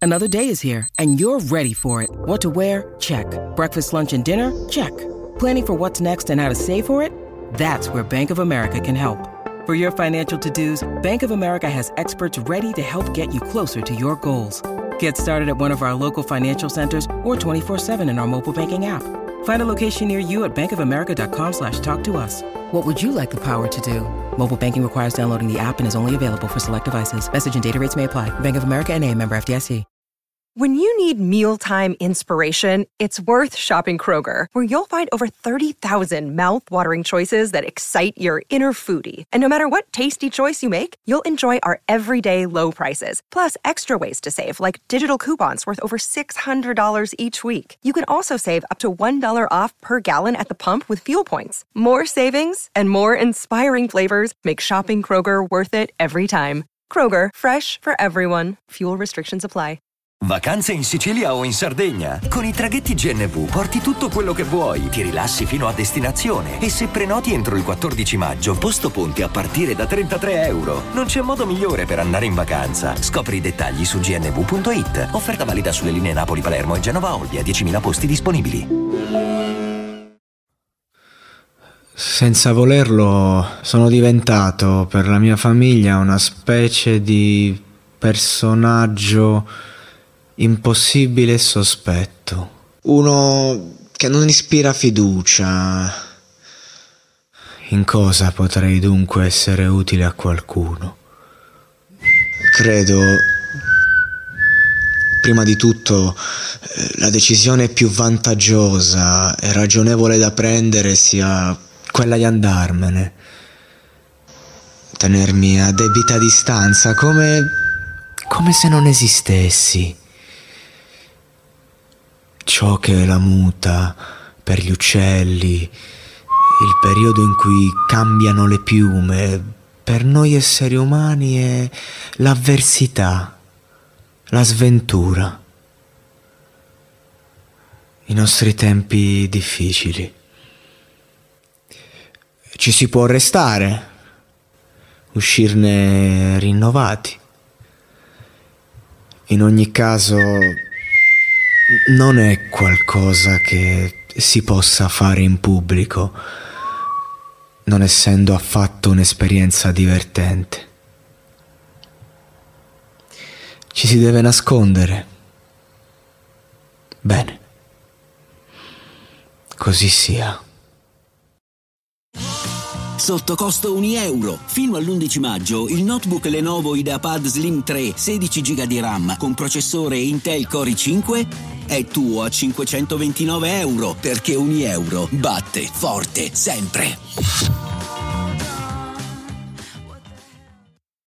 Another day is here, and you're ready for it. What to wear? Check. Breakfast, lunch, and dinner? Check. Planning for what's next and how to save for it? That's where Bank of America can help. For your financial to-dos, Bank of America has experts ready to help get you closer to your goals. Get started at one of our local financial centers or 24/7 in our mobile banking app. Find a location near you at bankofamerica.com/talktous. What would you like the power to do? Mobile banking requires downloading the app and is only available for select devices. Message and data rates may apply. Bank of America N.A., member FDIC. When you need mealtime inspiration, it's worth shopping Kroger, where you'll find over 30,000 mouth-watering choices that excite your inner foodie. And no matter what tasty choice you make, you'll enjoy our everyday low prices, plus extra ways to save, like digital coupons worth over $600 each week. You can also save up to $1 off per gallon at the pump with fuel points. More savings and more inspiring flavors make shopping Kroger worth it every time. Kroger, fresh for everyone. Fuel restrictions apply. Vacanze in Sicilia o in Sardegna? Con i traghetti GNV porti tutto quello che vuoi, ti rilassi fino a destinazione e se prenoti entro il 14 maggio, posto ponti a partire da €33. Non c'è modo migliore per andare in vacanza. Scopri i dettagli su gnv.it. Offerta valida sulle linee Napoli-Palermo e Genova-Olbia, 10.000 posti disponibili. Senza volerlo, sono diventato per la mia famiglia una specie di personaggio impossibile e sospetto. Uno che non ispira fiducia. In cosa potrei dunque essere utile a qualcuno? Credo, prima di tutto, la decisione più vantaggiosa e ragionevole da prendere sia quella di andarmene. Tenermi a debita distanza, come se non esistessi. Ciò che la muta per gli uccelli, il periodo in cui cambiano le piume, per noi esseri umani è l'avversità, la sventura, i nostri tempi difficili. Ci si può restare, uscirne rinnovati. In ogni caso, non è qualcosa che si possa fare in pubblico, non essendo affatto un'esperienza divertente. Ci si deve nascondere. Bene, così sia. Sotto costo €1. Fino all'11 maggio il notebook Lenovo IdeaPad Slim 3 16 GB di RAM con processore Intel Core i5 è tuo a €529, perché €1 batte forte sempre.